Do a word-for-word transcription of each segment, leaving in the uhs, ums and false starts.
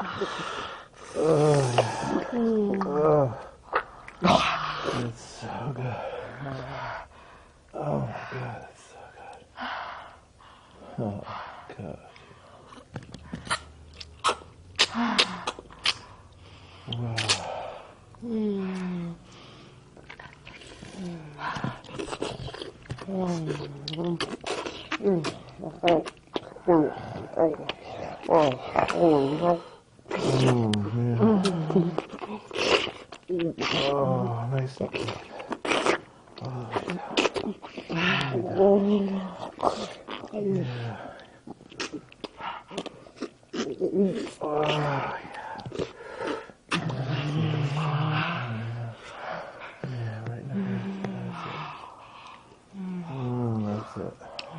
Oh, oh, it's so good. Oh my God, it's so good. Oh God. Wow. Mm. Oh, nice and clean. Oh, yeah. Yeah. Oh, yeah. Yeah, right now. That's it. Mm, that's it.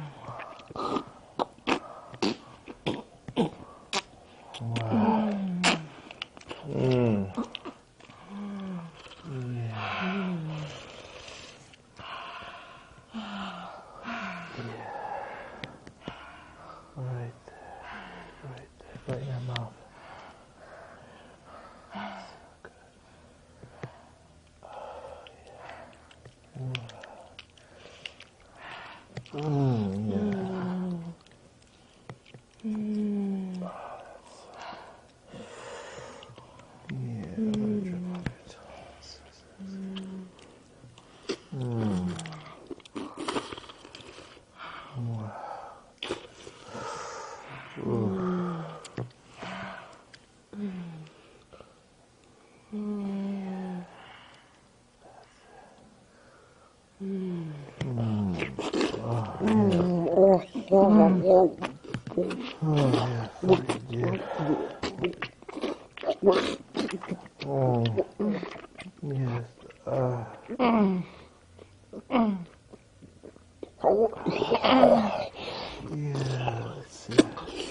Wow. Mm. Right there, right there, right in your mouth. So good. Oh, yeah. Mm, yeah. Mm. Yeah, let it drip off your toes. Mm. Wow. Ooh. Oh, yeah, fucking dude. Oh, yes. Uh, yeah, that's it.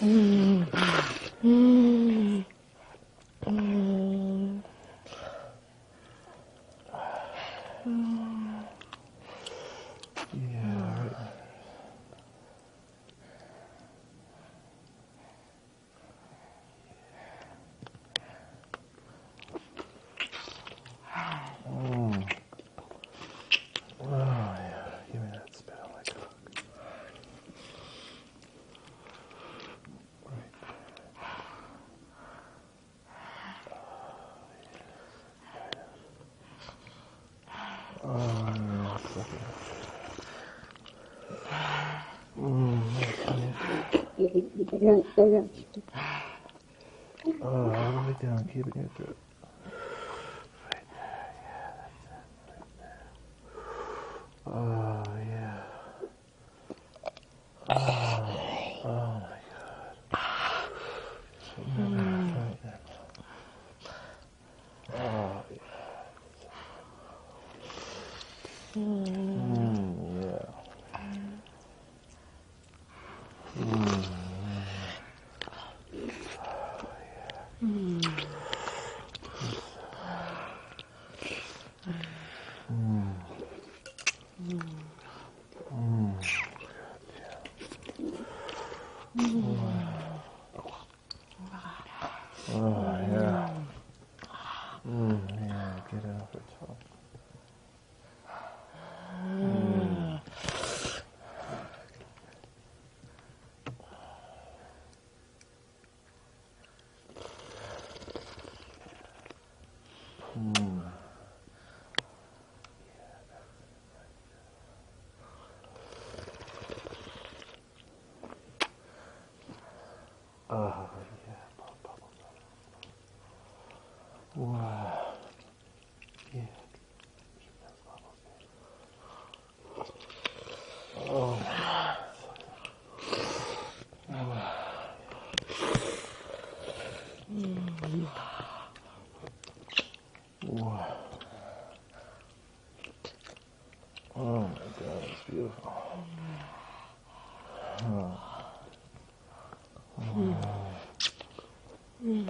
Yeah, right. Mm. Oh, yeah. Give me that spit on my cock. Right there. Oh, yeah. Suck it up. Mm, oh, all the way down. Keep it in your throat. Right there. Yeah, that's it. Right there. Oh, yeah. Oh, oh my God. Right there. Right there. Oh, yeah. Mm, yeah. Mm, mm, mm. Oh, yeah. Mm, yeah, get it off her tongue. Mm. Mm. Oh, yeah. Wow. Yeah. Oh, wow. Oh my God, it's beautiful. Oh. Oh. Mm.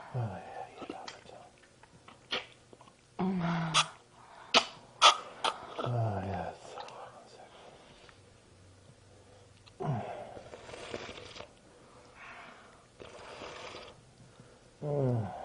Oh, yeah, you love it. Oh, yes. One second. Mm.